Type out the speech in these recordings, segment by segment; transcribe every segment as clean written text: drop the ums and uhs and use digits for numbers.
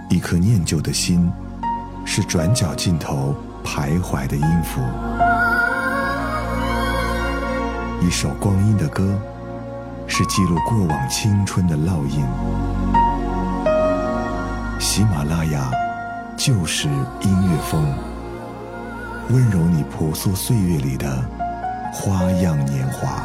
一颗念旧的心，是转角尽头徘徊的音符。一首光阴的歌，是记录过往青春的烙印。喜马拉雅就是音乐风，温柔你朴素岁月里的花样年华。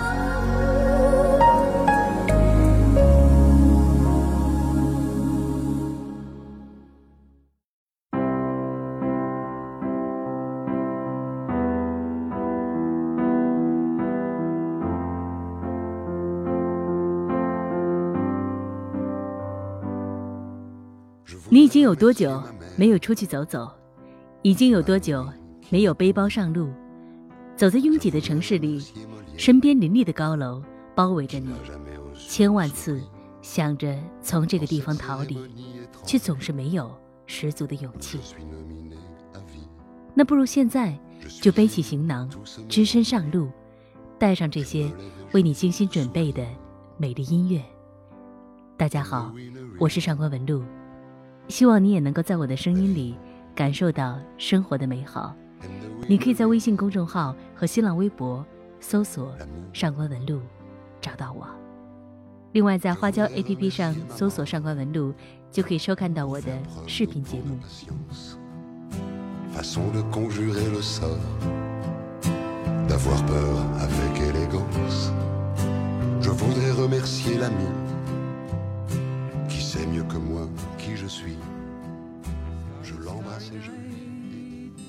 你已经有多久没有出去走走？已经有多久没有背包上路？走在拥挤的城市里，身边林立的高楼包围着你，千万次想着从这个地方逃离，却总是没有十足的勇气。那不如现在就背起行囊，只身上路，带上这些为你精心准备的美丽音乐。大家好，我是上官文露，希望你也能够在我的声音里感受到生活的美好。你可以在微信公众号和新浪微博搜索上官文露找到我。另外在花椒 APP 上搜索上官文露，就可以收看到我的视频节目。 Façon de conjurer le sort, d'avoir peur avec élégance. Je voudrais remercier l'ami qui sait mieux que moi qui je suis. Je l'embrasse et je lui dis.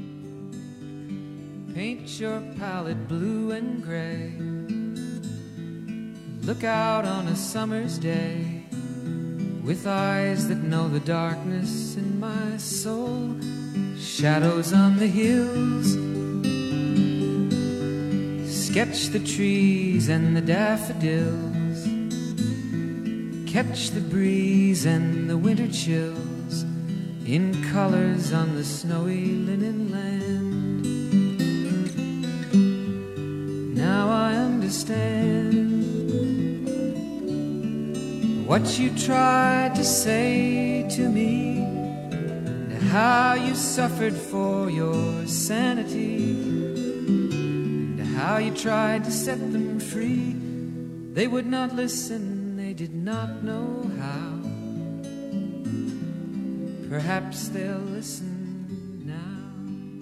Paint your palette blue and gray. Look out on a summer's day with eyes that know the darkness in my soul. Shadows on the hills. Sketch the trees and the daffodils. Catch the breeze and the winter chills in colors on the snowy linen land. Now I understand what you tried to say to me, and how you suffered for your sanity, and how you tried to set them free. They would not listen, they did not know how. Perhaps they'll listen now.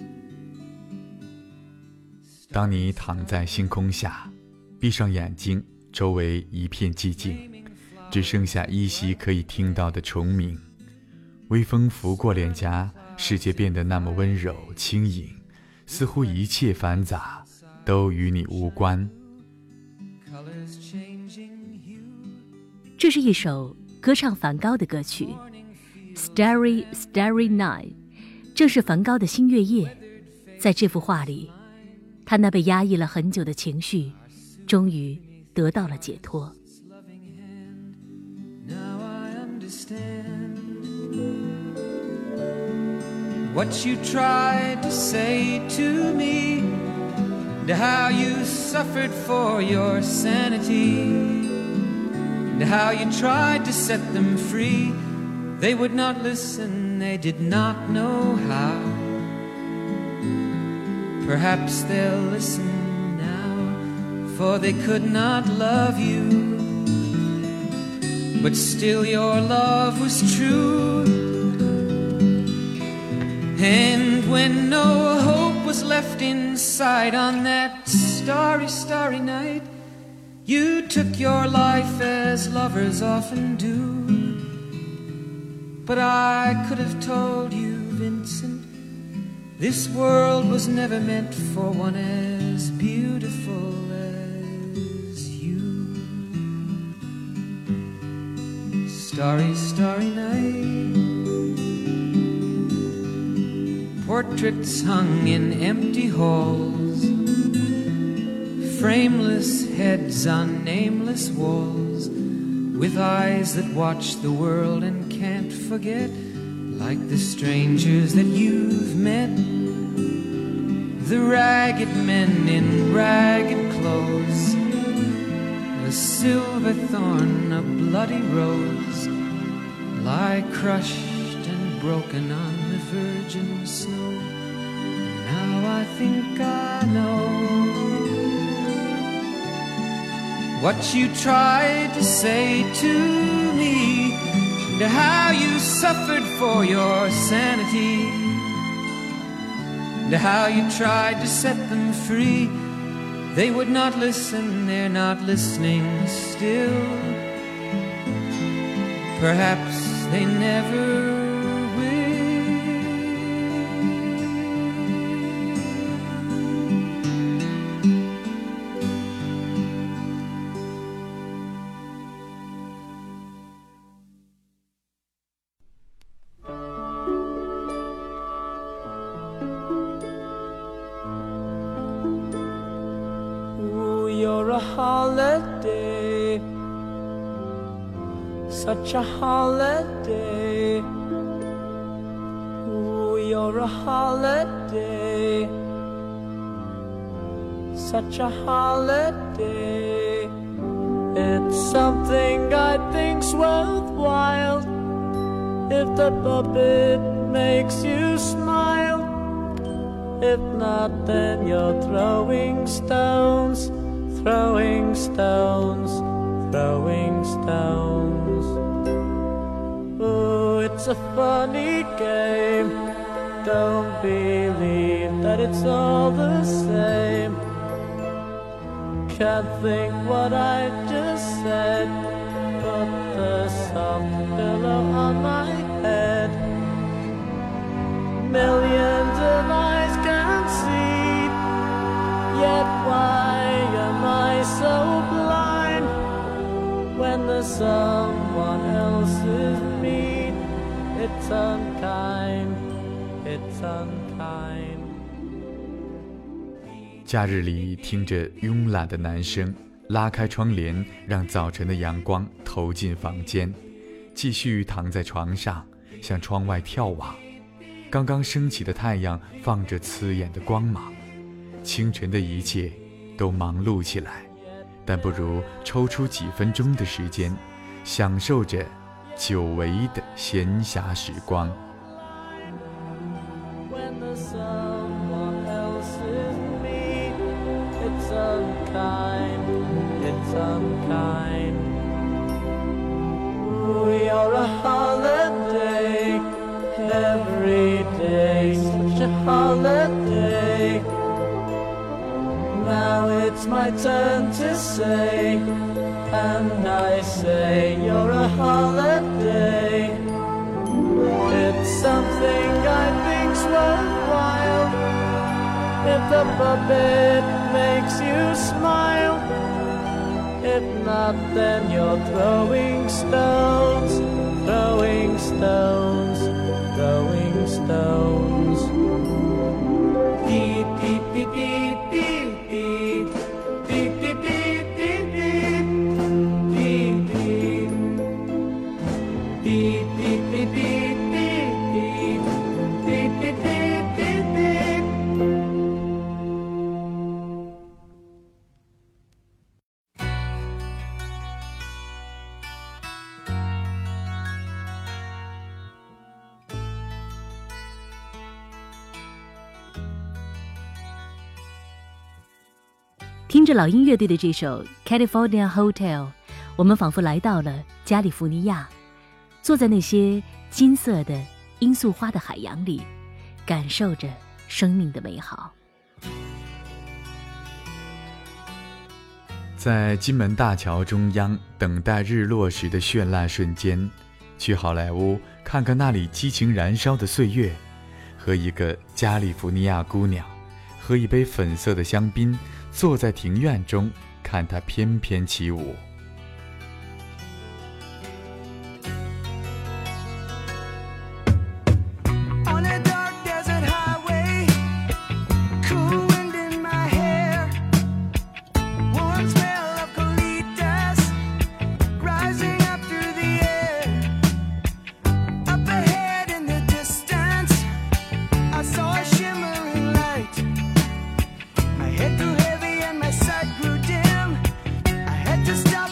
当你躺在星空下，闭上眼睛，周围一片寂静，只剩下依稀可以听到的虫鸣。微风拂过脸颊，世界变得那么温柔轻盈，似乎一切繁杂都与你无关。 这是一首歌唱梵高的歌曲 Starry Starry Night， 正是梵高的新月夜。在这幅画里，他那被压抑了很久的情绪终于得到了解脱。 What you tried to say to me, and how you suffered for your sanity, and how you tried to set them free. They would not listen, they did not know how. Perhaps they'll listen now, for they could not love you, but still your love was true. And when no hope was left inside on that starry, starry night, you took your life as lovers often do. But I could have told you, Vincent, this world was never meant for one as beautiful as you. Starry, starry night, portraits hung in empty halls, frameless heads on nameless walls, with eyes that watch the world and can't forget, like the strangers that you've met, the ragged men in ragged clothes, a silver thorn, a bloody rose, lie crushed broken on the virgin snow. Now I think I know what you tried to say to me, and how you suffered for your sanity, and how you tried to set them free. They would not listen, they're not listening still. Perhaps they never You're a holiday, such a holiday. Ooh, you're a holiday, such a holiday. It's something I think's worthwhile if the puppet makes you smile. If not, then you're throwing stones, throwing stones, throwing stones. Oh, it's a funny game. Don't believe that it's all the same. Can't think what I just said. Put the soft pillow on my head. Millions of eyes can see, yet why am I so blind when there's someone else's mean? It's unkind, it's unkind. 假日里听着慵懒的男声，拉开窗帘，让早晨的阳光投进房间，继续躺在床上，向窗外眺望。刚刚升起的太阳放着刺眼的光芒，清晨的一切都忙碌起来，但不如抽出几分钟的时间，享受着久违的闲暇时光。 Every day, such a holiday. Now it's my turn to say, and I say you're a holiday. It's something I think's worthwhile if the puppet makes you smile. If not, then you're throwing stones, throwing stones, throwing stones. Beep, beep, beep, beep, beep, beep. Beep, beep, beep, beep, beep. Beep, beep. Beep, beep, beep, beep, beep, beep. Beep, beep, beep, beep, beep. 听着老鹰乐队的这首 California Hotel， 我们仿佛来到了加利福尼亚，坐在那些金色的罂粟花的海洋里，感受着生命的美好。 在金门大桥中央等待日落时的绚烂瞬间，去好莱坞看看那里激情燃烧的岁月，和一个加利福尼亚姑娘喝一杯粉色的香槟，坐在庭院中看她翩翩起舞。 Head too heavy and my sight grew dim. I had to stop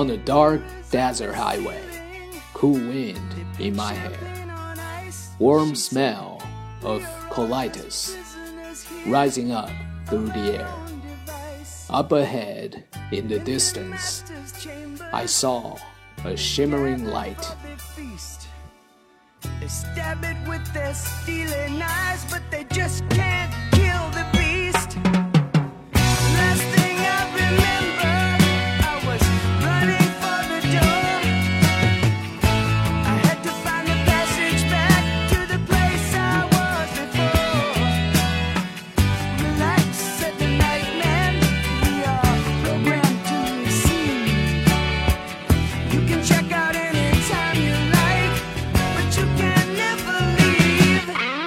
On a dark desert highway, cool wind in my hair, warm smell of colitis rising up through the air. Up ahead, in the distance, I saw a shimmering light. They stab it with their stealing eyes, but they just can't kill the beast. Last thing I remember, I was running for the door. I had to find the passage back to the place I was before. Relax, said the nightman, we are programmed to receive. You can check out anytime you like, but you can never leave.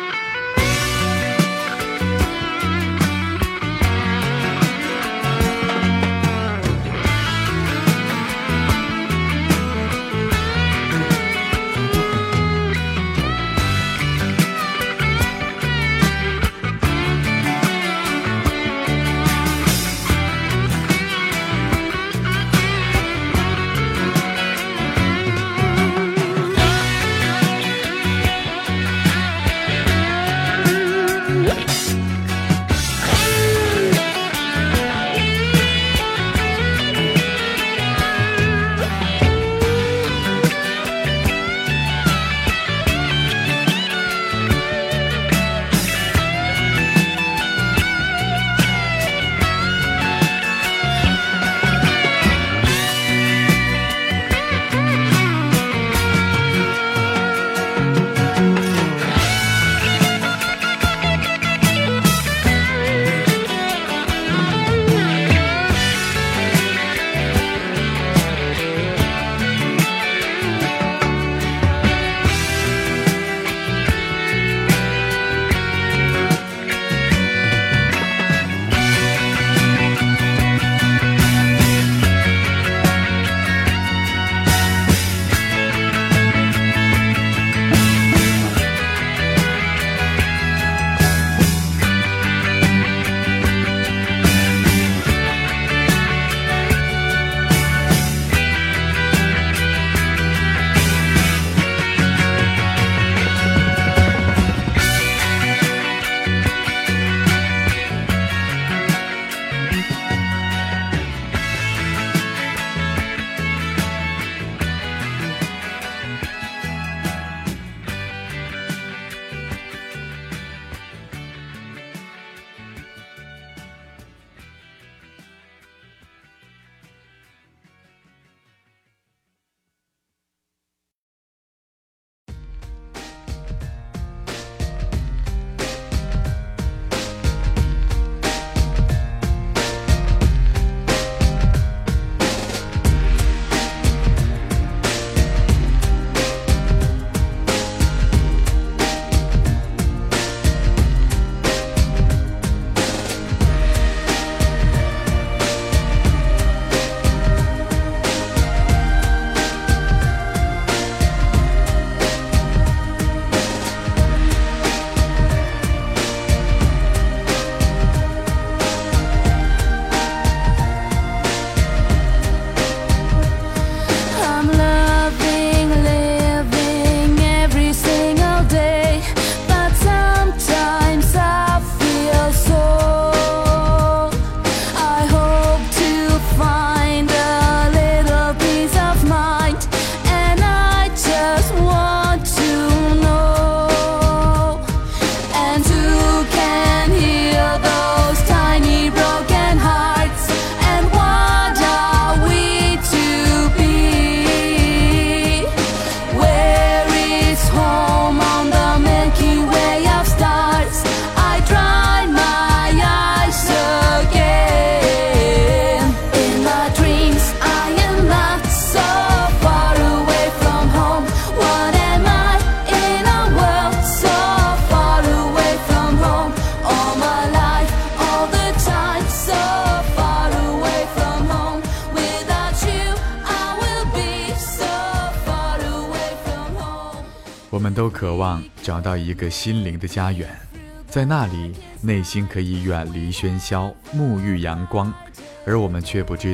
我们都渴望找到一个心灵的家园，在那里内心可以远离喧嚣，沐浴阳光，而我们却不知道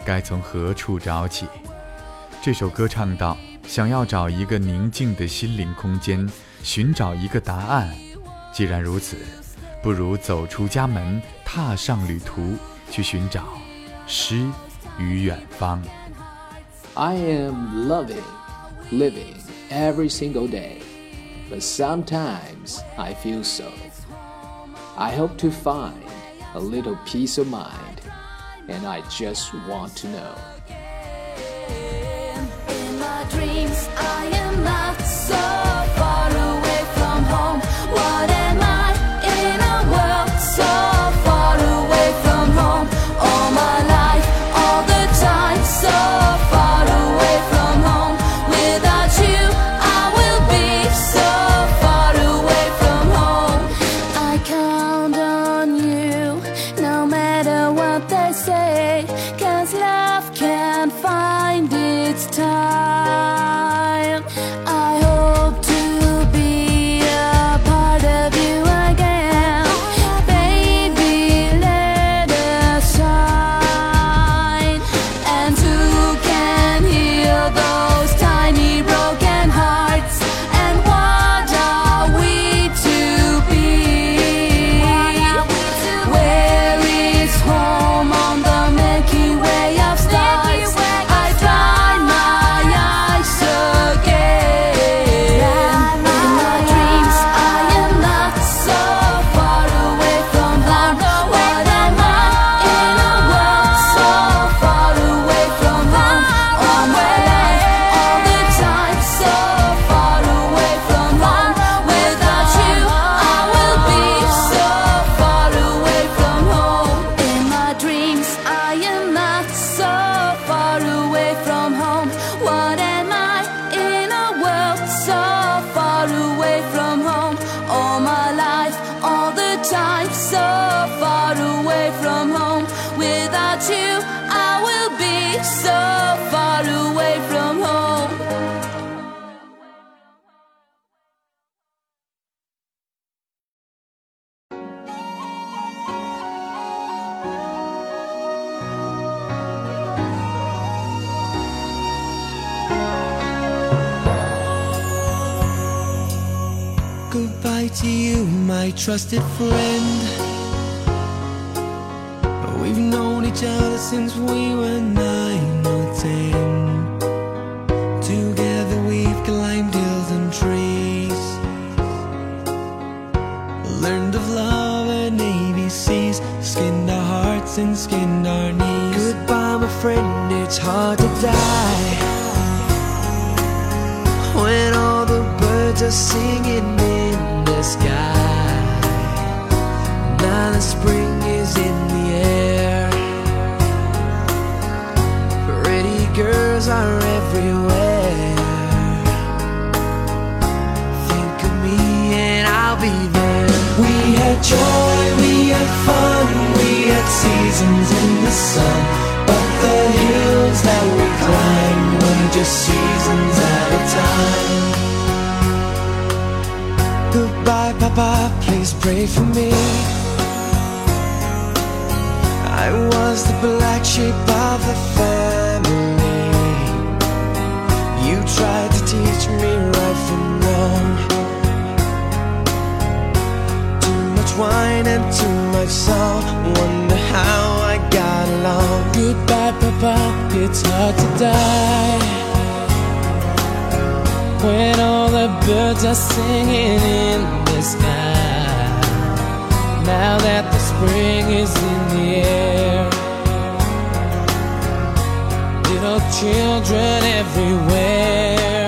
该从何处找起？这首歌唱到，想要找一个宁静的心灵空间，寻找一个答案。既然如此，不如走出家门，踏上旅途，去寻找诗与远方。 I am living every single day, but sometimes I feel so. I hope to find a little peace of mind, and I just want to know. In my dreams, I am not so far away from home. What am I in a world so far away from home? All my life, all the time, so far away from home. Without you, I will be so far away from home. I count on you, no matter what they say, 'cause love can't find its time. I hope to be a part of you again. Baby, let us shine. And who can heal those tiny broken hearts? And what are we to be? Where is home on the Milky Way of stars? I dry my eyes again. In my dreams, I am not so far away from home. What am I in a world so far away from home? All my life, all the time, so far away from home. Without you, I will be so far away from home. In my dreams, I am not so far away from home. What am I in a world so far away from home? All my life, all the time, so far away from home. Without you, I will be so far away from home. Goodbye to you, my trusted friend. We've known each other since we were 9 or 10. Together we've climbed hills and trees, learned of love and ABCs, skinned our hearts and skinned our knees. Goodbye, my friend, it's hard to die when all the birds are singing in the sky. Now the spring is in the air, pretty girls are everywhere. Think of me and I'll be there. We had joy, we had fun, we had seasons in the sun, but the hills that we climbed were just seasons at a time. Goodbye, Papa, please pray for me. I was the black sheep of the family. You tried to teach me right from wrong. Too much wine and too much salt, wonder how I got along. Goodbye, Papa, it's hard to die when all the birds are singing in the sky. Now that the spring is in the air, little children everywhere.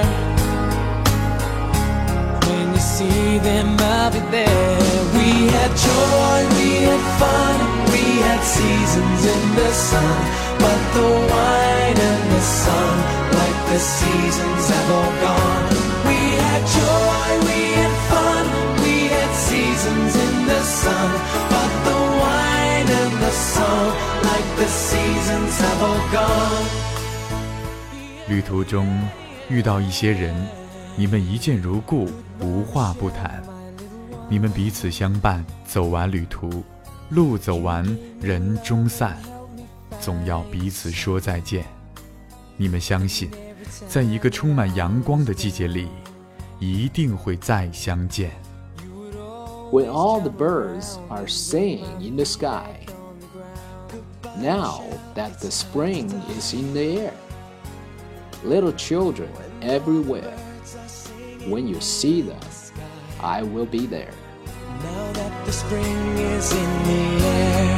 When you see them, I'll be there. We had joy, we had fun, we had seasons in the sun, but the wine and the sun, like the seasons, have all gone. We had joy, we had fun, we had seasons in the sun, but the wine and the song, like the seasons, have all gone. 旅途中遇到一些人，你们一见如故，无话不谈。你们彼此相伴，走完旅途，路走完，人终散。 总要彼此说再见。你们相信，在一个充满阳光的季节里，一定会再相见。 When all the birds are singing in the sky, now that the spring is in the air, little children everywhere, when you see them, I will be there. Now that the spring is in the air,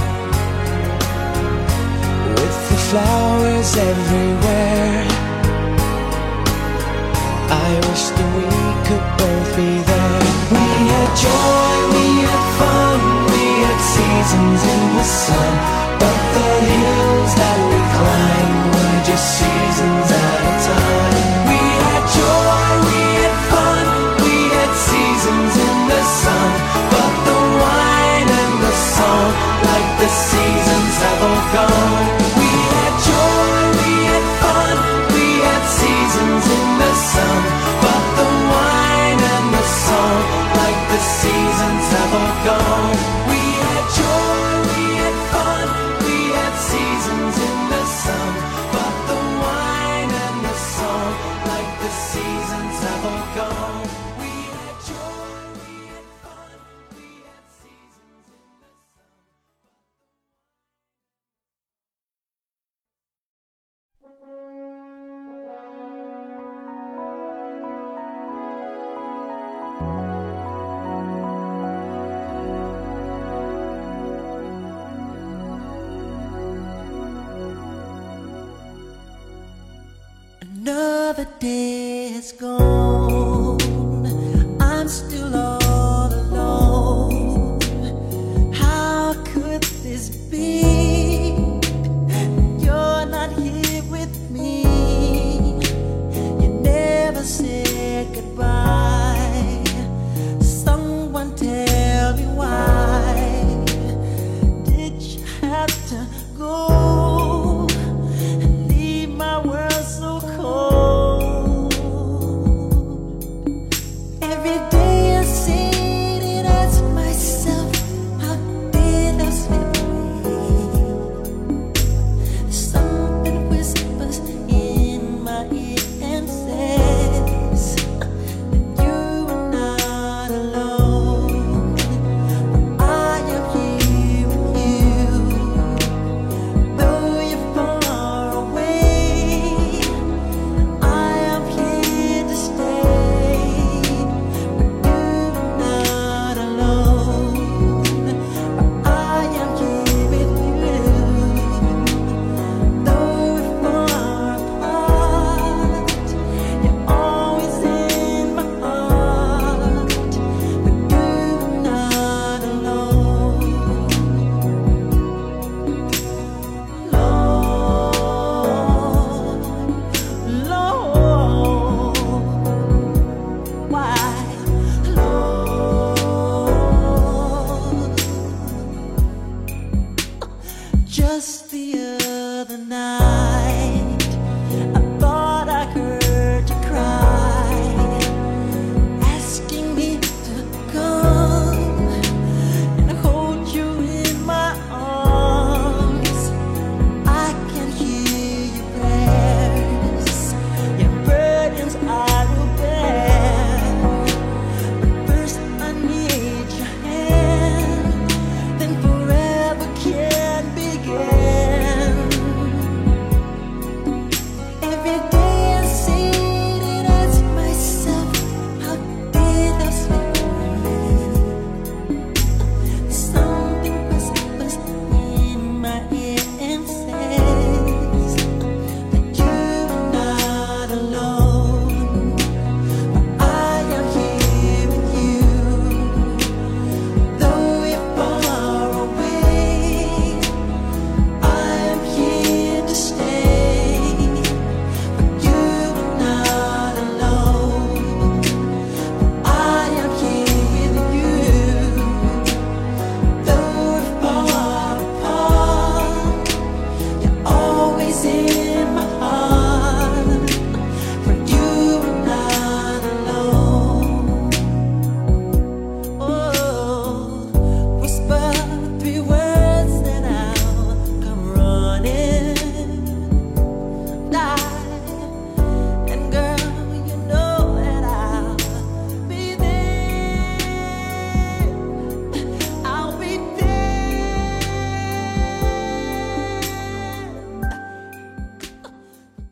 with the flowers everywhere, I wish that we could both be there. We had joy, we had fun, we had seasons in the sun, but the hills that we climbed were just seasons at a time. We had joy, we had fun, we had seasons in the sun, but the wine and the song, like the seasons have all gone. We had joy, we had fun, we had seasons in the sun, but the wine and the song, like the seasons have all gone. We had joy, we had fun, we had seasons in the sun, but the wine and the song, like the seasons have all gone. We had joy, we had fun, we had seasons in the sun. Another day has gone, I'm still all alone. How could this be? You're not here with me. You never said goodbye. Someone tell me why did you have to go? Leave my world so cold.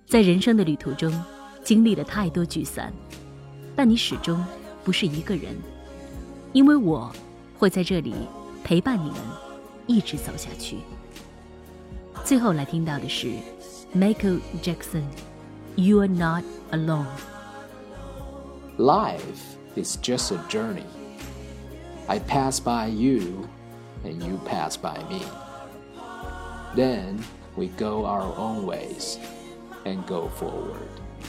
在人生的旅途中，经历了太多聚散，但你始终不是一个人，因为我会在这里陪伴你们，一直走下去。最后来听到的是 Michael Jackson You Are Not Alone. Life is just a journey. I pass by you and you pass by me. Then we go our own ways and go forward.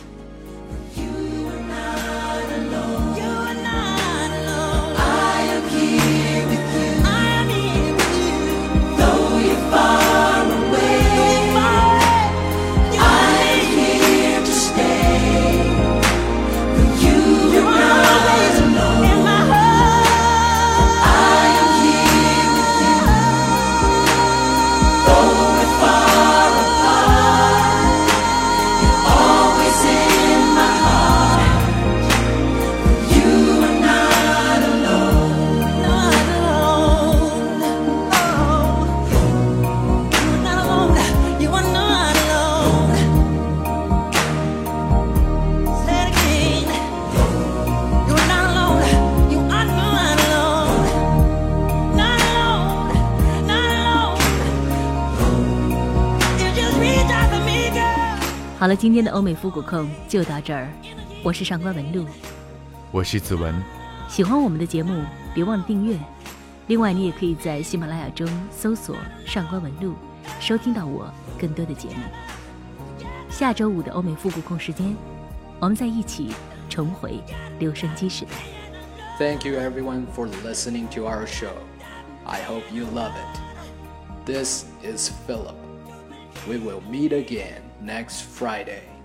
好了，今天的欧美复古控就到这儿。我是上官文露， 我是子文。 喜欢我们的节目，别忘了订阅。另外，你也可以在喜马拉雅中搜索上官文露，收听到我更多的节目。下周五的欧美复古控时间，我们在一起重回留声机时代。 Thank you everyone for listening to our show. I hope you love it. This is Philip. We will meet again next Friday.